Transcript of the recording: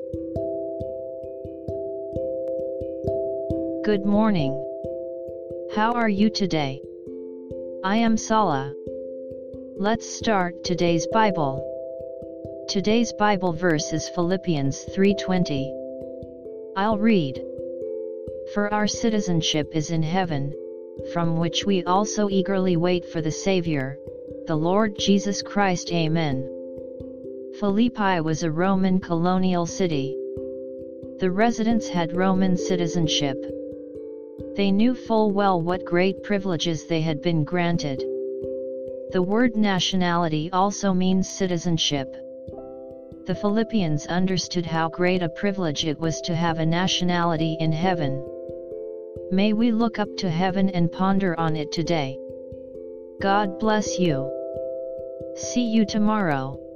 Good morning. How are you today? I am Sala. Let's start today's Bible. Today's Bible verse is Philippians 3:20. I'll read. For our citizenship is in heaven, from which we also eagerly wait for the Savior, the Lord Jesus Christ. Amen. Philippi was a Roman colonial city. The residents had Roman citizenship. They knew full well what great privileges they had been granted. The word nationality also means citizenship. The Philippians understood how great a privilege it was to have a nationality in heaven. May we look up to heaven and ponder on it today. God bless you. See you tomorrow.